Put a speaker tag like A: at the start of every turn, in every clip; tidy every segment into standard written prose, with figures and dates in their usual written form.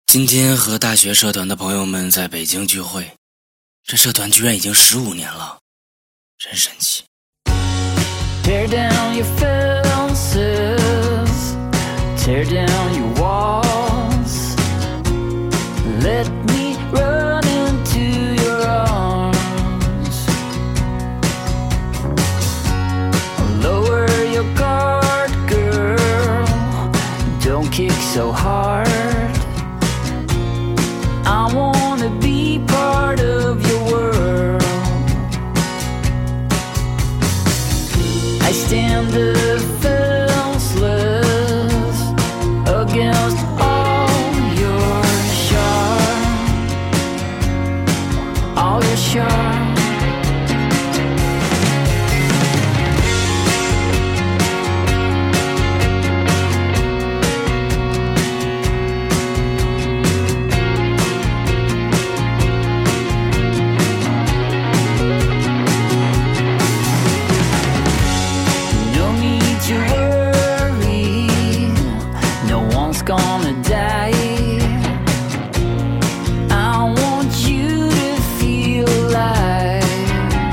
A: 今天和大学社团的朋友们在北京聚会，这社团居然已经15年了，真神奇。
B: Tear down your fences, tear down your walls, let me run into your arms, lower your guard, girl, don't kick so hard, I wanna be part of your world. I stand defenseless against all your charm, all your charm. Gonna die. I want you to feel alive,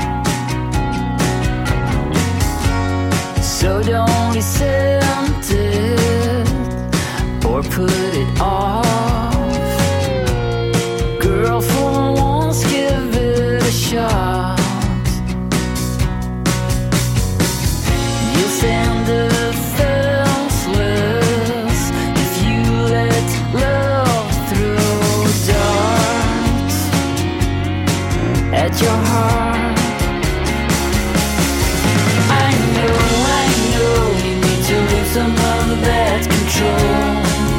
B: so don't resent it or put it off. Girl, for once give it a shot. You'll stand defenseless if you let love throw darts at your heart. I know you need to lose some of that control.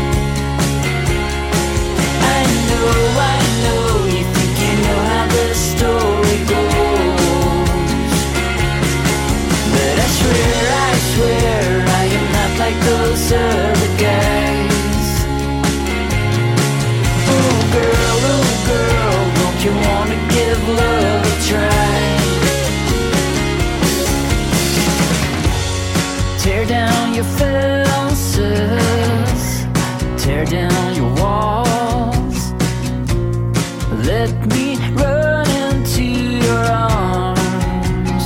B: I know you think you know how the story goes, but I swear I am not like those other guys. Oh girl, don't you wanna give love a try? Tear down your fences, tear down your walls, let me run into your arms,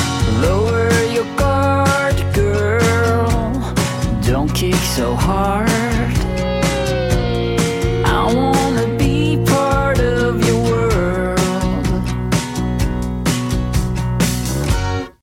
B: lower your guard, girl, don't kick so hard,